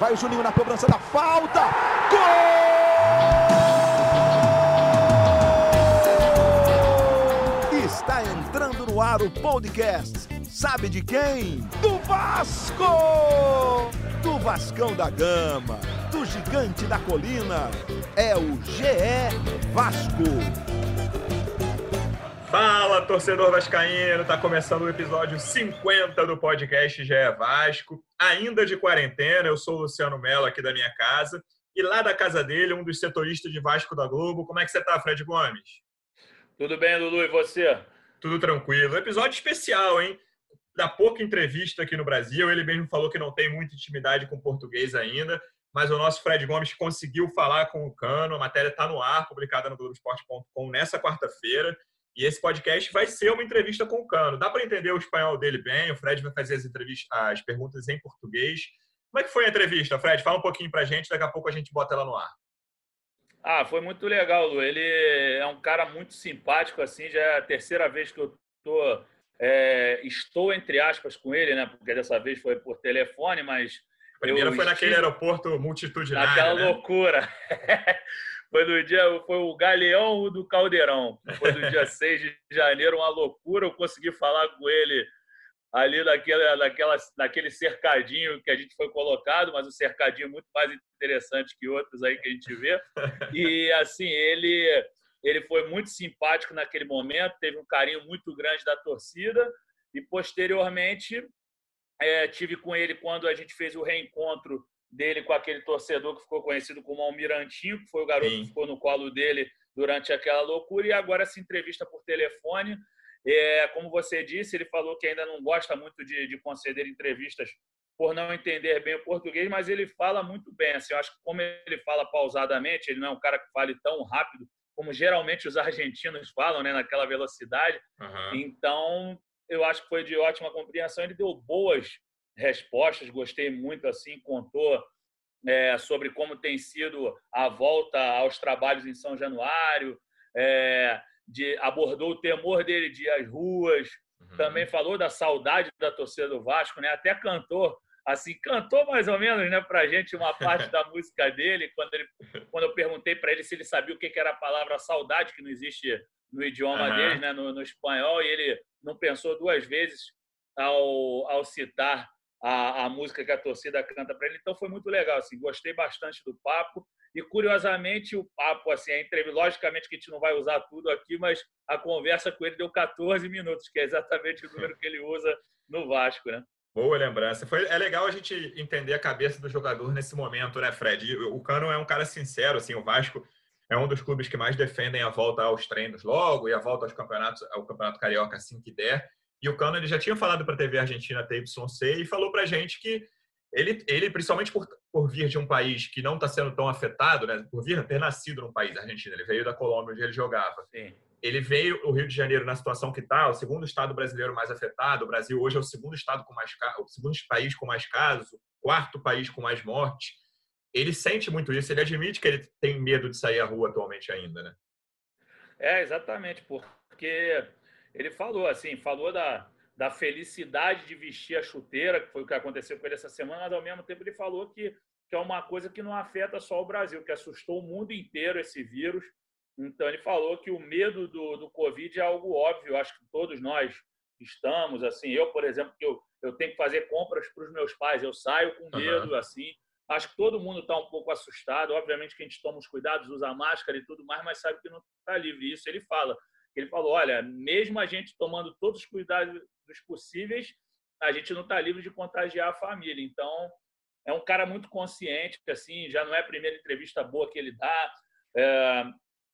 Vai o Juninho na cobrança da falta. Gol! Está entrando no ar o podcast. Sabe de quem? Do Vasco! Do Vascão da Gama, do Gigante da Colina. É o GE Vasco. Fala, torcedor vascaíno, tá começando o episódio 50 do podcast GE Vasco, ainda de quarentena. Eu sou o Luciano Mello, aqui da minha casa, e lá da casa dele, um dos setoristas de Vasco da Globo. Como é que você tá, Fred Gomes? Tudo bem, Lulu, e você? Tudo tranquilo. Episódio especial, hein? Dá pouca entrevista aqui no Brasil, ele mesmo falou que não tem muita intimidade com o português ainda, mas o nosso Fred Gomes conseguiu falar com o Cano. A matéria está no ar, publicada no Globoesporte.com nessa quarta-feira. E esse podcast vai ser uma entrevista com o Cano. Dá para entender o espanhol dele bem, o Fred vai fazer as perguntas em português. Como é que foi a entrevista, Fred? Fala um pouquinho para a gente, daqui a pouco a gente bota ela no ar. Foi muito legal, Lu. Ele é um cara muito simpático, assim, já é a terceira vez que eu estou, entre aspas, com ele, né? Porque dessa vez foi por telefone, mas... A primeira foi naquele aeroporto multitudinário, naquela né? loucura. Foi o Galeão do Caldeirão. Foi no dia 6 de janeiro, uma loucura. Eu consegui falar com ele ali naquele cercadinho que a gente foi colocado, mas um cercadinho muito mais interessante que outros aí que a gente vê. E, assim, ele foi muito simpático naquele momento, teve um carinho muito grande da torcida e, posteriormente, tive com ele quando a gente fez o reencontro dele com aquele torcedor que ficou conhecido como Almirantinho, que foi o garoto que ficou no colo dele durante aquela loucura, e agora essa entrevista por telefone. Como você disse, ele falou que ainda não gosta muito de conceder entrevistas por não entender bem o português, mas ele fala muito bem. Assim, eu acho que como ele fala pausadamente, ele não é um cara que fale tão rápido como geralmente os argentinos falam, né, naquela velocidade. Uhum. Então, eu acho que foi de ótima compreensão. Ele deu boas respostas, gostei muito, assim, contou sobre como tem sido a volta aos trabalhos em São Januário, abordou o temor dele de ir às ruas, também falou da saudade da torcida do Vasco, né? Até cantou mais ou menos, né, pra gente uma parte da música dele, quando eu perguntei para ele se ele sabia o que era a palavra saudade, que não existe no idioma deles, né, no espanhol, e ele não pensou duas vezes ao citar a música que a torcida canta para ele. Então foi muito legal, assim, gostei bastante do papo. E, curiosamente, o papo, assim, logicamente que a gente não vai usar tudo aqui, mas a conversa com ele deu 14 minutos, que é exatamente o número que ele usa no Vasco, né? Boa lembrança. É legal a gente entender a cabeça do jogador nesse momento, né, Fred? E o Cano é um cara sincero, assim, o Vasco é um dos clubes que mais defendem a volta aos treinos logo e a volta ao Campeonato Carioca assim que der. E o Cano, ele já tinha falado para a TV Argentina TYC e falou para a gente que ele principalmente por vir de um país que não está sendo tão afetado, né, por ter nascido num país, Argentina, ele veio da Colômbia, onde ele jogava. Sim. Ele veio o Rio de Janeiro na situação que está, o segundo estado brasileiro mais afetado. O Brasil hoje é o segundo estado o segundo país com mais casos, o quarto país com mais mortes. Ele sente muito isso, ele admite que ele tem medo de sair à rua atualmente ainda, né? Exatamente, porque ele falou da felicidade de vestir a chuteira, que foi o que aconteceu com ele essa semana, mas ao mesmo tempo ele falou que é uma coisa que não afeta só o Brasil, que assustou o mundo inteiro esse vírus. Então ele falou que o medo do Covid é algo óbvio, acho que todos nós estamos, assim, eu, por exemplo, que eu tenho que fazer compras para os meus pais, eu saio com medo, assim, acho que todo mundo está um pouco assustado, obviamente que a gente toma os cuidados, usa máscara e tudo mais, mas sabe que não está livre. Isso ele falou, olha, mesmo a gente tomando todos os cuidados possíveis, a gente não está livre de contagiar a família. Então, é um cara muito consciente, assim, já não é a primeira entrevista boa que ele dá.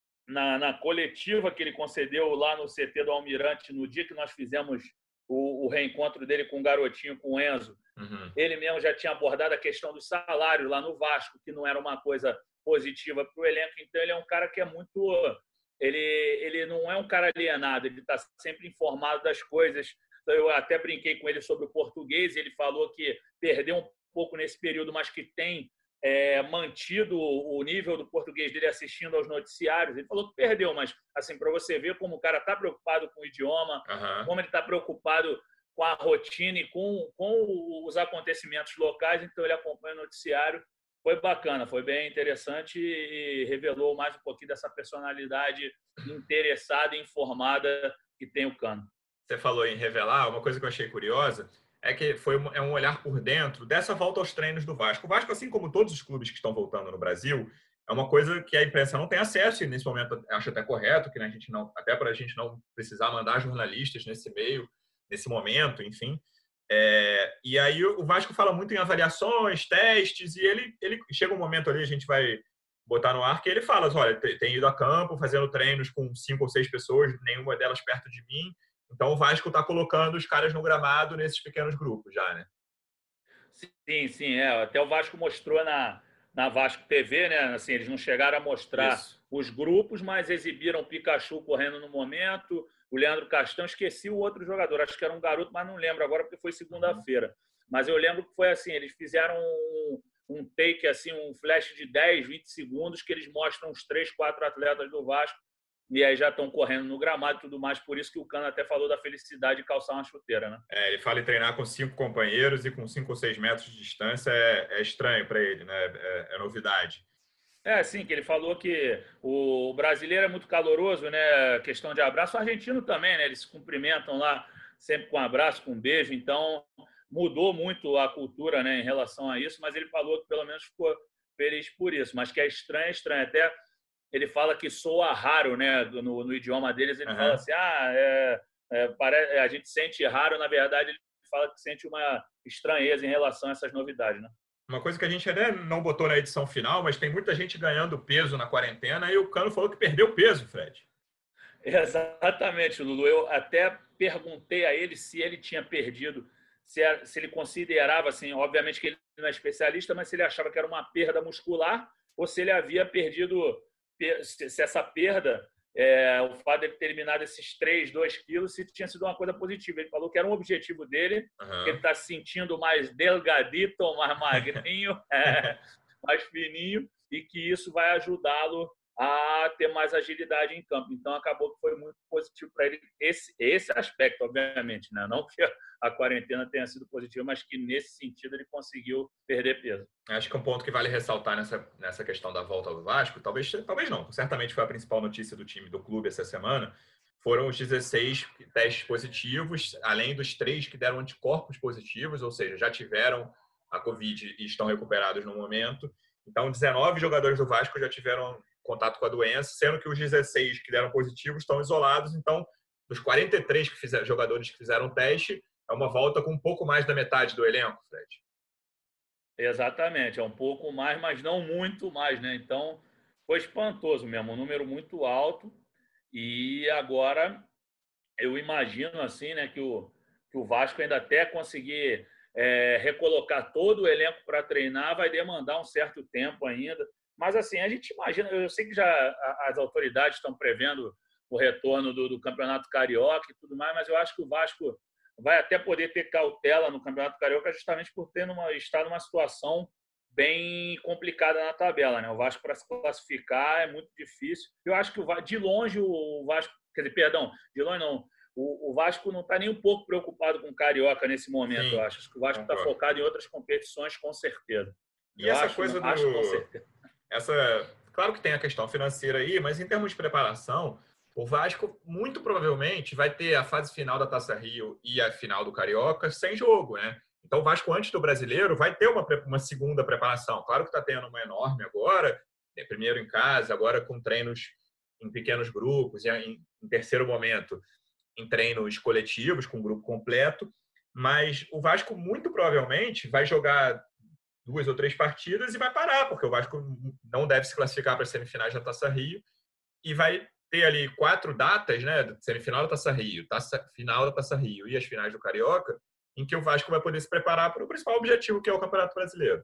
Na coletiva que ele concedeu lá no CT do Almirante, no dia que nós fizemos o reencontro dele com o garotinho, com o Enzo, ele mesmo já tinha abordado a questão do salário lá no Vasco, que não era uma coisa positiva para o elenco. Então, ele é um cara que é muito... Ele não é um cara alienado, ele está sempre informado das coisas. Então, eu até brinquei com ele sobre o português, ele falou que perdeu um pouco nesse período, mas que tem mantido o nível do português dele assistindo aos noticiários. Ele falou que perdeu, mas assim, para você ver como o cara está preocupado com o idioma, como ele está preocupado a rotina e com os acontecimentos locais, então ele acompanha o noticiário. Foi bacana, foi bem interessante e revelou mais um pouquinho dessa personalidade interessada e informada que tem o Cano. Você falou em revelar, uma coisa que eu achei curiosa é que é um olhar por dentro dessa volta aos treinos do Vasco. O Vasco, assim como todos os clubes que estão voltando no Brasil, é uma coisa que a imprensa não tem acesso e nesse momento acho até correto, que a gente não, até para a gente não precisar mandar jornalistas nesse meio, nesse momento, enfim. E aí o Vasco fala muito em avaliações, testes, e ele chega um momento ali, a gente vai botar no ar, que ele fala, olha, tem ido a campo, fazendo treinos com 5 ou 6 pessoas, nenhuma delas perto de mim. Então o Vasco está colocando os caras no gramado nesses pequenos grupos já, né? Sim. Até o Vasco mostrou na Vasco TV, né? Assim, eles não chegaram a mostrar os grupos, mas exibiram o Pikachu correndo no momento, o Leandro Castan, esqueci o outro jogador, acho que era um garoto, mas não lembro agora porque foi segunda-feira. Mas eu lembro que foi assim, eles fizeram um take, assim, um flash de 10, 20 segundos que eles mostram os 3, 4 atletas do Vasco e aí já estão correndo no gramado e tudo mais. Por isso que o Cano até falou da felicidade de calçar uma chuteira, né? Ele fala em treinar com 5 companheiros e com 5 ou 6 metros de distância é estranho para ele, né? É novidade. Sim, que ele falou que o brasileiro é muito caloroso, né? Questão de abraço. O argentino também, né? Eles se cumprimentam lá sempre com um abraço, com um beijo. Então, mudou muito a cultura, né, em relação a isso, mas ele falou que pelo menos ficou feliz por isso. Mas que é estranho. Até ele fala que soa raro, né? No idioma deles, ele fala assim, a gente sente raro. Na verdade, ele fala que sente uma estranheza em relação a essas novidades, né? Uma coisa que a gente até não botou na edição final, mas tem muita gente ganhando peso na quarentena e o Cano falou que perdeu peso, Fred. Exatamente, Lulu. Eu até perguntei a ele se ele tinha perdido, se ele considerava, assim, obviamente que ele não é especialista, mas se ele achava que era uma perda muscular ou se ele havia perdido, se essa perda, o fato de ele ter eliminado esses 2 quilos, se tinha sido uma coisa positiva. Ele falou que era um objetivo dele, que ele está se sentindo mais delgadito, mais magrinho, mais fininho, e que isso vai ajudá-lo a ter mais agilidade em campo. Então, acabou que foi muito positivo para ele esse aspecto, obviamente, né? Não que a quarentena tenha sido positiva, mas que, nesse sentido, ele conseguiu perder peso. Acho que um ponto que vale ressaltar nessa questão da volta do Vasco, talvez não, certamente foi a principal notícia do time, do clube essa semana, foram os 16 testes positivos, além dos 3 que deram anticorpos positivos, ou seja, já tiveram a Covid e estão recuperados no momento. Então, 19 jogadores do Vasco já tiveram contato com a doença, sendo que os 16 que deram positivos estão isolados. Então, dos 43 jogadores que fizeram o teste, é uma volta com um pouco mais da metade do elenco, Fred. Exatamente, é um pouco mais, mas não muito mais, né? Então, foi espantoso mesmo, um número muito alto. E agora, eu imagino, assim, né, que o Vasco ainda até conseguir recolocar todo o elenco para treinar vai demandar um certo tempo ainda. Mas, assim, a gente imagina, eu sei que já as autoridades estão prevendo o retorno do Campeonato Carioca e tudo mais, mas eu acho que o Vasco vai até poder ter cautela no Campeonato Carioca justamente por estar numa situação bem complicada na tabela, né? O Vasco, para se classificar, é muito difícil. Eu acho que de longe o Vasco, quer dizer, perdão, de longe não, o Vasco não está nem um pouco preocupado com o Carioca nesse momento. Sim, eu acho que o Vasco está focado em outras competições, com certeza. E essa coisa com certeza. Claro que tem a questão financeira aí, mas em termos de preparação, o Vasco muito provavelmente vai ter a fase final da Taça Rio e a final do Carioca sem jogo, né? Então o Vasco, antes do Brasileiro, vai ter uma segunda preparação. Claro que está tendo uma enorme agora, primeiro em casa, agora com treinos em pequenos grupos, e em terceiro momento em treinos coletivos, com grupo completo. Mas o Vasco muito provavelmente vai jogar 2 ou 3 partidas e vai parar, porque o Vasco não deve se classificar para as semifinais da Taça Rio e vai ter ali 4 datas, né, semifinal da Taça Rio, final da Taça Rio e as finais do Carioca, em que o Vasco vai poder se preparar para o principal objetivo, que é o Campeonato Brasileiro.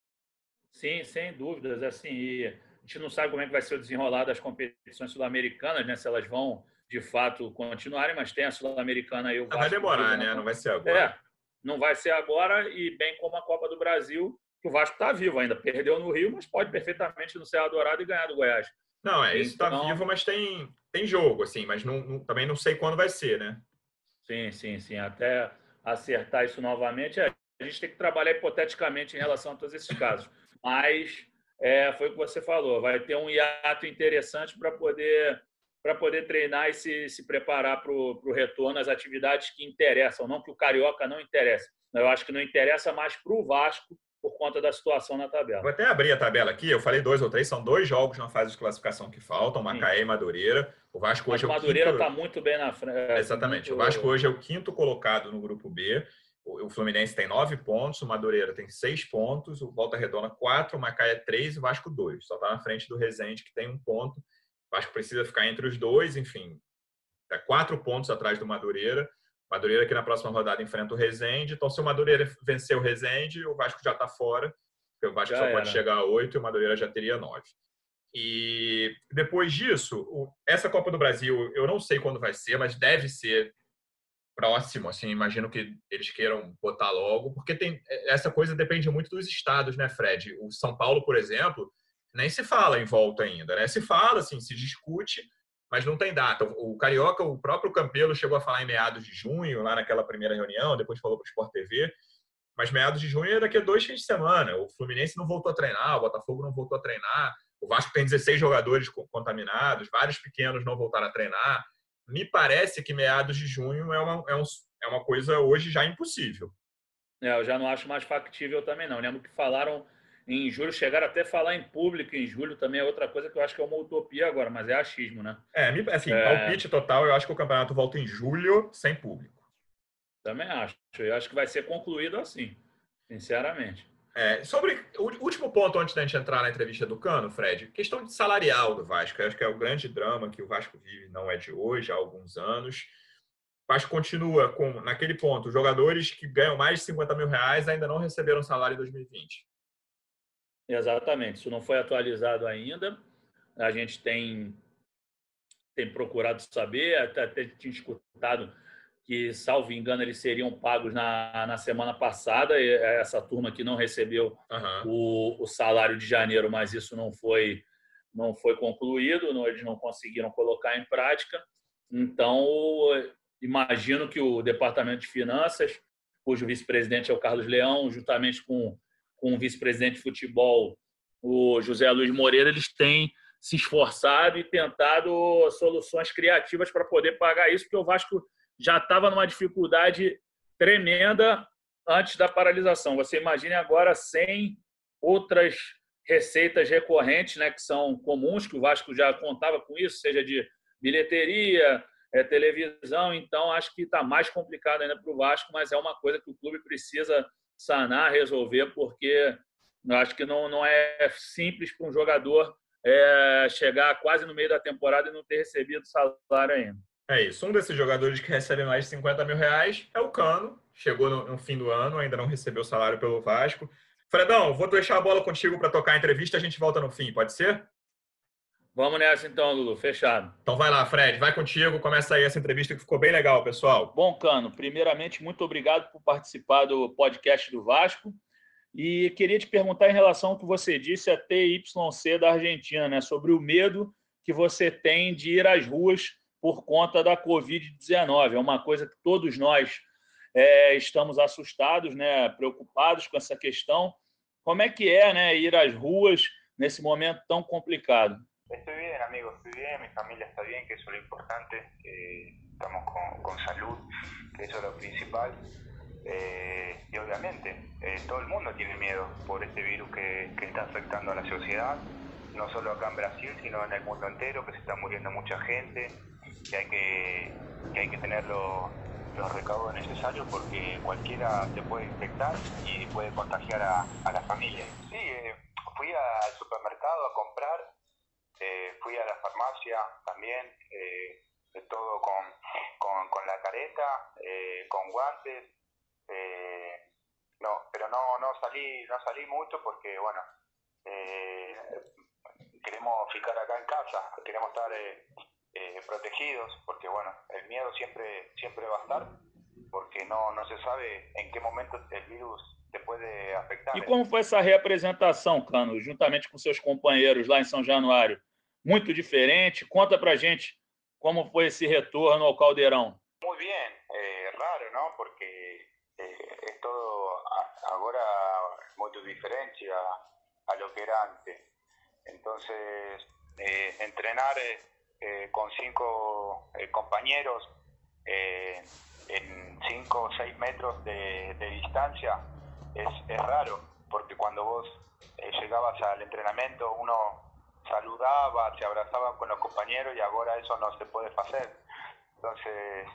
Sim, sem dúvidas. Assim, e a gente não sabe como é que vai ser o desenrolar das competições sul-americanas, né, se elas vão, de fato, continuarem, mas tem a Sul-Americana aí. O Vasco vai demorar, né? Não vai ser agora. Não vai ser agora, e bem como a Copa do Brasil, que o Vasco está vivo ainda. Perdeu no Rio, mas pode perfeitamente no Serra Dourada e ganhar do Goiás. Não, isso está vivo, mas tem jogo, assim, mas também não sei quando vai ser, né? Sim. acertar isso novamente. A gente tem que trabalhar hipoteticamente em relação a todos esses casos. Mas foi o que você falou, vai ter um hiato interessante para poder treinar e se preparar para o retorno às atividades que interessam, não que o Carioca não interessa. Eu acho que não interessa mais para o Vasco por conta da situação na tabela. Vou até abrir a tabela aqui, eu falei 2 ou 3, são 2 jogos na fase de classificação que faltam, Macaé e Madureira. O Vasco hoje é o Madureira está muito bem na frente. Exatamente, o Vasco hoje é o 5º colocado no grupo B, o Fluminense tem 9 pontos, o Madureira tem 6 pontos, o Volta Redonda 4, o Macaé 3 e o Vasco 2. Só está na frente do Resende, que tem 1 ponto. O Vasco precisa ficar entre os dois, enfim, está 4 pontos atrás do Madureira. Madureira que na próxima rodada enfrenta o Resende. Então, se o Madureira vencer o Resende, o Vasco já está fora, porque o Vasco só pode chegar a 8 e o Madureira já teria 9. E depois disso, essa Copa do Brasil, eu não sei quando vai ser, mas deve ser próximo, assim, imagino que eles queiram botar logo, porque essa coisa depende muito dos estados, né, Fred? O São Paulo, por exemplo, nem se fala em volta ainda, né? Se fala, assim, se discute, mas não tem data. O Carioca, o próprio Campelo chegou a falar em meados de junho, lá naquela primeira reunião, depois falou para o Sport TV, mas meados de junho é daqui a 2 fins de semana. O Fluminense não voltou a treinar, o Botafogo não voltou a treinar, o Vasco tem 16 jogadores contaminados, vários pequenos não voltaram a treinar. Me parece que meados de junho é uma coisa hoje já impossível. Eu já não acho mais factível também, não. Lembro que falaram em julho, chegaram até a falar em público em julho também, é outra coisa que eu acho que é uma utopia agora, mas é achismo, né? Assim, palpite total, eu acho que o campeonato volta em julho sem público. Também acho. Eu acho que vai ser concluído assim, sinceramente. Sobre o último ponto, antes da gente entrar na entrevista do Cano, Fred, questão de salarial do Vasco. Eu acho que é o grande drama que o Vasco vive, não é de hoje, há alguns anos. O Vasco continua naquele ponto, jogadores que ganham mais de 50 mil reais ainda não receberam salário em 2020. Exatamente, isso não foi atualizado ainda. A gente tem procurado saber, até tinha escutado que, salvo engano, eles seriam pagos na semana passada. Essa turma que não recebeu o salário de janeiro, mas isso não foi concluído, eles não conseguiram colocar em prática. Então, imagino que o Departamento de Finanças, cujo vice-presidente é o Carlos Leão, juntamente com o vice-presidente de futebol, o José Luiz Moreira, eles têm se esforçado e tentado soluções criativas para poder pagar isso, porque o Vasco já estava numa dificuldade tremenda antes da paralisação. Você imagine agora sem outras receitas recorrentes, né, que são comuns, que o Vasco já contava com isso, seja de bilheteria, televisão. Então, acho que está mais complicado ainda para o Vasco, mas é uma coisa que o clube precisa sanar, resolver, porque eu acho que não é simples para um jogador chegar quase no meio da temporada e não ter recebido salário ainda. É isso. Um desses jogadores que recebe mais de 50 mil reais é o Cano. Chegou no fim do ano, ainda não recebeu salário pelo Vasco. Fredão, vou deixar a bola contigo para tocar a entrevista, a gente volta no fim, pode ser? Vamos nessa então, Lulu. Fechado. Então vai lá, Fred, vai contigo, começa aí essa entrevista que ficou bem legal, pessoal. Bom, Cano, primeiramente, muito obrigado por participar do podcast do Vasco. E queria te perguntar em relação ao que você disse a TYC da Argentina, né, sobre o medo que você tem de ir às ruas por conta da Covid-19. É uma coisa que todos nós estamos assustados, né, preocupados com essa questão. Como é que né, ir às ruas nesse momento tão complicado? Estoy bien, amigo, estoy bien, mi familia está bien, que eso es lo importante, estamos con salud, que eso es lo principal, y obviamente todo el mundo tiene miedo por este virus que está afectando a la sociedad, no solo acá en Brasil, sino en el mundo entero, que se está muriendo mucha gente, que hay que tener los recaudos necesarios porque cualquiera se puede infectar y puede contagiar a la familia. Sí, fui al supermercado a comprar. Fui a la farmacia también, de todo con la careta, con guantes, pero no salí mucho porque, bueno, queremos ficar acá en casa, queremos estar protegidos, porque, bueno, el miedo siempre va a estar, porque no se sabe en qué momento el virus te puede afectar. E como foi essa reapresentação, Cano, juntamente com seus companheiros lá em São Januário? Muito diferente? Conta pra gente como foi esse retorno ao Caldeirão. Muy bien, raro, ¿no? Porque agora é muito diferente a lo que era antes. Entonces, entrenar con 5 compañeros en 5 o 6 metros de distancia es raro, porque cuando vos llegabas al entrenamiento uno saludaba, se abrazaba con los compañeros y ahora eso no se puede hacer. Entonces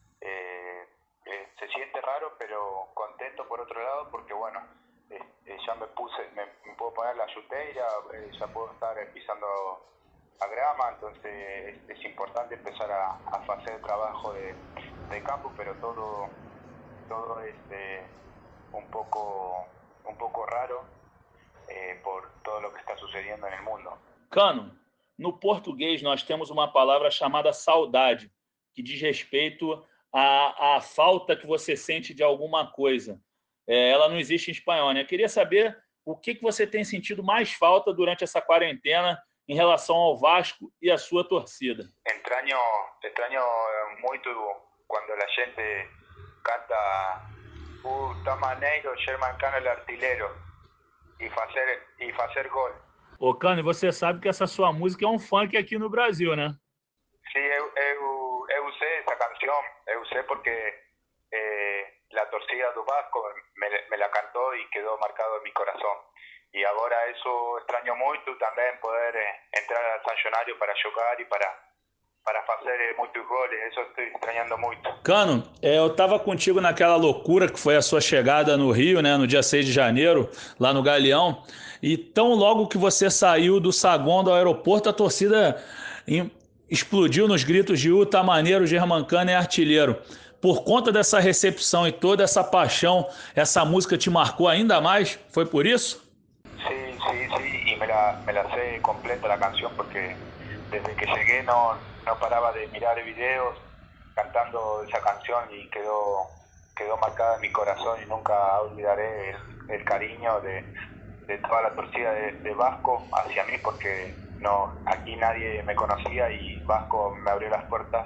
se siente raro, pero contento por otro lado, porque bueno, ya me puedo poner la chuteira, ya puedo estar pisando a grama, entonces es importante empezar a hacer el trabajo de campo, pero todo es un poco raro por todo lo que está sucediendo en el mundo. Cano, no português nós temos uma palavra chamada saudade, que diz respeito à falta que você sente de alguma coisa. Ela não existe em espanhol, né? Eu queria saber o que você tem sentido mais falta durante essa quarentena em relação ao Vasco e a sua torcida. Extraño muito quando a gente canta Tamaneiro, Germancano el artilheiro e fazer gol. Ô, Cano, e você sabe que essa sua música é um funk aqui no Brasil, né? Sim, eu usei essa canção, eu usei porque a torcida do Vasco me la cantou e quedou marcado em meu coração. E agora isso extraño muito também, poder entrar ao São Januário para jogar e para fazer muitos goles, isso estou estranhando muito. Cano, eu estava contigo naquela loucura que foi a sua chegada no Rio, né, no dia 6 de janeiro, lá no Galeão, e tão logo que você saiu do saguão do aeroporto, a torcida explodiu nos gritos de Tamaneiro, Germancano e artilheiro. Por conta dessa recepção e toda essa paixão, essa música te marcou ainda mais? Foi por isso? Sí, y me la sé completa la canción, porque desde que llegué no paraba de mirar videos cantando esa canción y quedó marcada en mi corazón, y nunca olvidaré el cariño de toda la torcida de Vasco hacia mí, porque aquí nadie me conocía y Vasco me abrió las puertas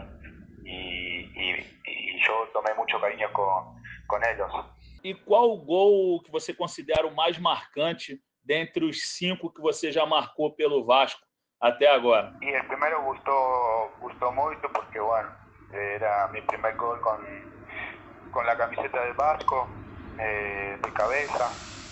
y yo tomé mucho cariño con ellos. E qual o gol que você considera o mais marcante dentre os 5 que você já marcou pelo Vasco até agora? Y el primero gustó mucho porque, bueno, era mi primer gol con la camiseta del Vasco, de cabeza.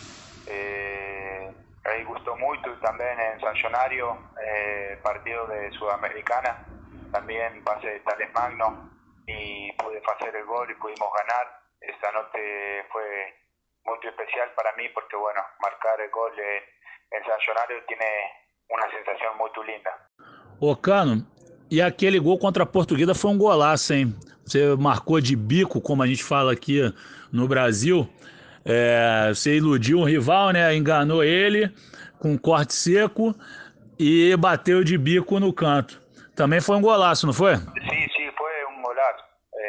Ahí gustó mucho, y también en San Januário, partido de Sudamericana, también pasé de Tales Magno y pude hacer el gol y pudimos ganar. Esa noche fue muy especial para mí porque, bueno, marcar el gol en San Januário tiene uma sensação muito linda. Ô, Cano, e aquele gol contra a Portuguesa foi um golaço, hein? Você marcou de bico, como a gente fala aqui no Brasil. Você iludiu um rival, né? Enganou ele com um corte seco e bateu de bico no canto. Também foi um golaço, não foi? Sim, foi um golaço.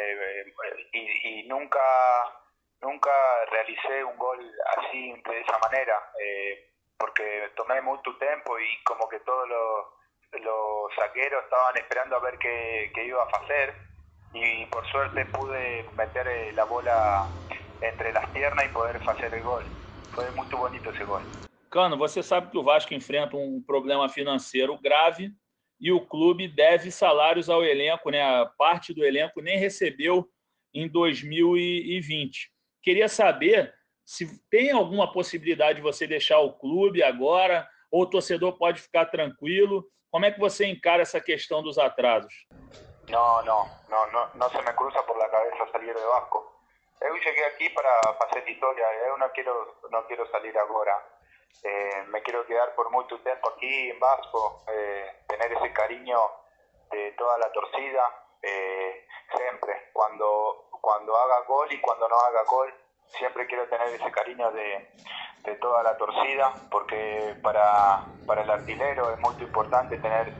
E nunca realicé um gol assim, dessa maneira. Porque tomé mucho tiempo y como que todos los zagueros estaban esperando a ver qué iba a hacer, y por suerte pude meter la bola entre las piernas y poder hacer el gol. Foi muito bonito esse gol. Cano, você sabe que o Vasco enfrenta um problema financeiro grave e o clube deve salários ao elenco, né? A parte do elenco nem recebeu em 2020. Queria saber se tem alguma possibilidade de você deixar o clube agora, ou o torcedor pode ficar tranquilo. Como é que você encara essa questão dos atrasos? No se me cruza por la cabeza salir de Vasco. Eu cheguei aqui para fazer história, eu não quero salir agora. Me quero quedar por muito tempo aqui em Vasco, tener esse carinho de toda a torcida, sempre. Cuando haga gol y cuando no haga gol, siempre quiero tener ese cariño de toda la torcida, porque para el artilero es muy importante tener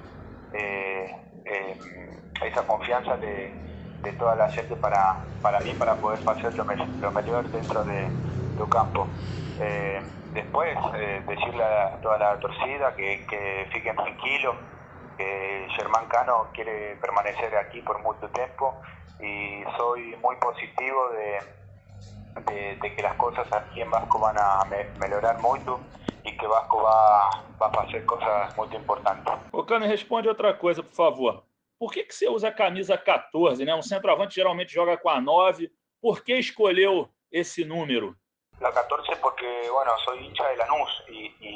esa confianza de toda la gente para mí, para poder hacer lo mejor dentro del campo. Después, decirle a toda la torcida que fiquen tranquilos, que Germancano quiere permanecer aquí por mucho tiempo, y soy muy positivo de que las cosas aquí en Vasco van a melhorar muito e que Vasco vai fazer coisas muito importantes. Ô, Cano, responde outra coisa, por favor. Por que você usa a camisa 14, né? Um centroavante geralmente joga com a 9. Por que escolheu esse número? La 14 porque, bueno, soy hincha de Lanús y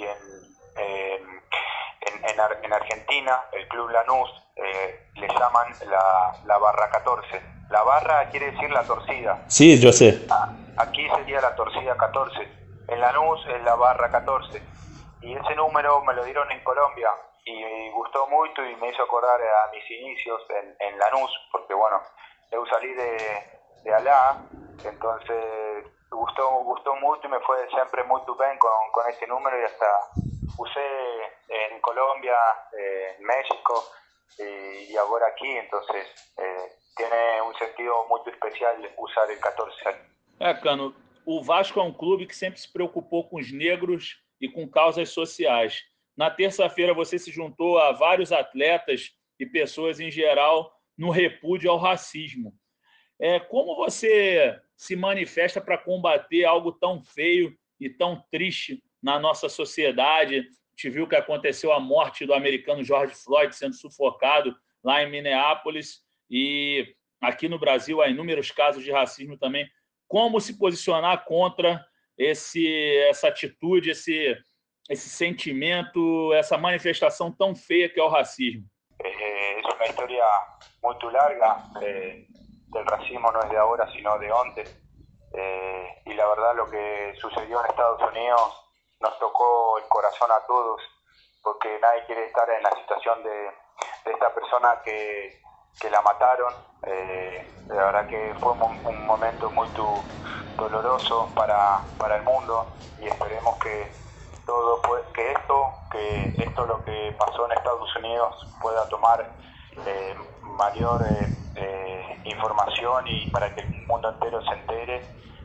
en Argentina, el club Lanús le llaman la barra 14. La barra quiere decir la torcida. Sí, yo sé. Aquí sería la torcida 14. En Lanús es la barra 14. Y ese número me lo dieron en Colombia y me gustó mucho y me hizo acordar a mis inicios en Lanús, porque bueno, yo salí de allá, entonces gustó mucho y me fue siempre muy bien con este número y hasta usé en Colombia, en México y ahora aquí, entonces tiene un sentido muy especial usar el 14. Cano, o Vasco é um clube que sempre se preocupou com os negros e com causas sociais. Na terça-feira você se juntou a vários atletas e pessoas em geral no repúdio ao racismo. Como você se manifesta para combater algo tão feio e tão triste na nossa sociedade? Te viu que aconteceu a morte do americano George Floyd sendo sufocado lá em Minneapolis e aqui no Brasil há inúmeros casos de racismo também. Como se posicionar contra essa atitude, esse sentimento, essa manifestação tão feia que é o racismo? É uma história muito larga. El racismo no es de ahora, sino de antes. Y la verdad lo que sucedió en Estados Unidos nos tocó el corazón a todos, porque nadie quiere estar en la situación de esta persona que la mataron. La verdad que fue un momento muy doloroso para el mundo y esperemos que esto lo que pasó en Estados Unidos pueda tomar mayor información y para que el mundo entero se entere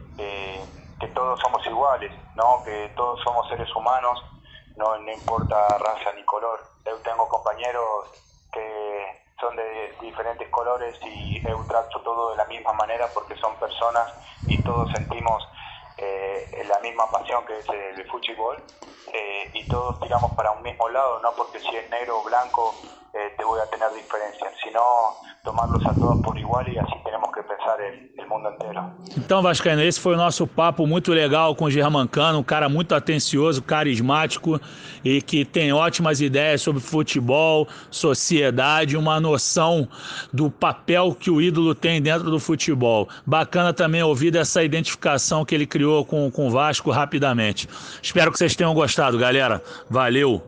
que todos somos iguales, ¿no? Que todos somos seres humanos, no importa raza ni color. Yo tengo compañeros que son de diferentes colores y yo trato todo de la misma manera porque son personas y todos sentimos la misma pasión que es el fútbol y todos tiramos para un mismo lado, no porque si es negro o blanco te voy a tener diferencias, sino tomarlos a todos por igual e assim temos que pensar o mundo inteiro. Então, Vascaíno, esse foi o nosso papo muito legal com o Germancano, um cara muito atencioso, carismático e que tem ótimas ideias sobre futebol, sociedade, uma noção do papel que o ídolo tem dentro do futebol. Bacana também ouvir dessa identificação que ele criou com o Vasco rapidamente. Espero que vocês tenham gostado, galera. Valeu!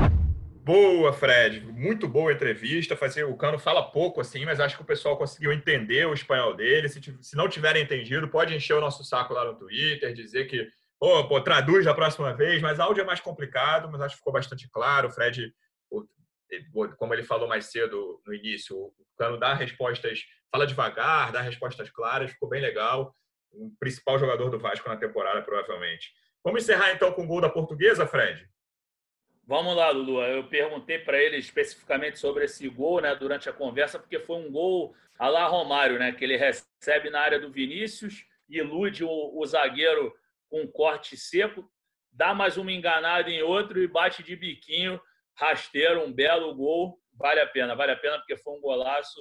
Boa, Fred. Muito boa entrevista. O Cano fala pouco, assim, mas acho que o pessoal conseguiu entender o espanhol dele. Se não tiverem entendido, pode encher o nosso saco lá no Twitter, dizer que traduz da próxima vez, mas áudio é mais complicado, mas acho que ficou bastante claro. O Fred, como ele falou mais cedo no início, o Cano dá respostas, fala devagar, dá respostas claras, ficou bem legal. O principal jogador do Vasco na temporada, provavelmente. Vamos encerrar, então, com o gol da Portuguesa, Fred? Vamos lá, Lulu. Eu perguntei para ele especificamente sobre esse gol, né, durante a conversa, porque foi um gol à la Romário, né, que ele recebe na área do Vinícius, ilude o zagueiro com um corte seco, dá mais uma enganada em outro e bate de biquinho, rasteiro, um belo gol. Vale a pena porque foi um golaço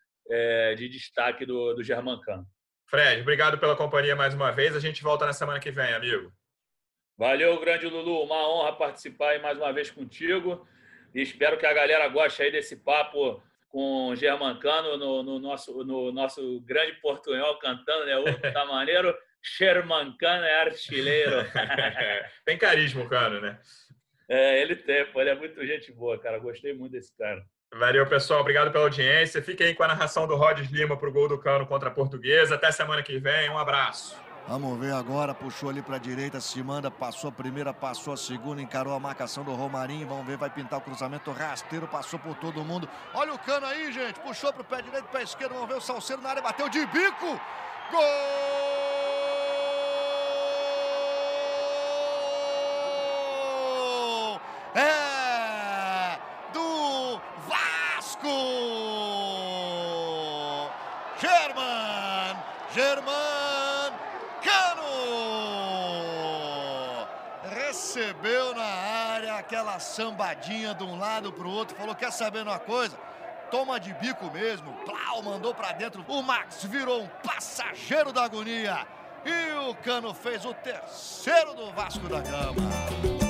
de destaque do Germancano. Fred, obrigado pela companhia mais uma vez. A gente volta na semana que vem, amigo. Valeu, grande Lulu. Uma honra participar aí mais uma vez contigo. E espero que a galera goste aí desse papo com o Germancano no nosso grande portunhol cantando, né? Tá maneiro? Germancano é artilheiro. Tem carisma o Cano, né? Ele tem, pô. Ele é muito gente boa, cara. Gostei muito desse cara. Valeu, pessoal. Obrigado pela audiência. Fiquem aí com a narração do Rodes Lima pro gol do Cano contra a Portuguesa. Até semana que vem. Um abraço. Vamos ver agora, puxou ali para a direita, se manda, passou a primeira, passou a segunda, encarou a marcação do Romarinho, vamos ver, vai pintar o cruzamento rasteiro, passou por todo mundo. Olha o Cano aí, gente, puxou para o pé direito, pé esquerdo, vamos ver o Salceiro na área, bateu de bico, gol! É do Vasco! German! Cano! aquela sambadinha de um lado pro outro, falou, quer saber uma coisa? Toma de bico mesmo. Plau, mandou pra dentro. O Max virou um passageiro da agonia. E o Cano fez o terceiro do Vasco da Gama.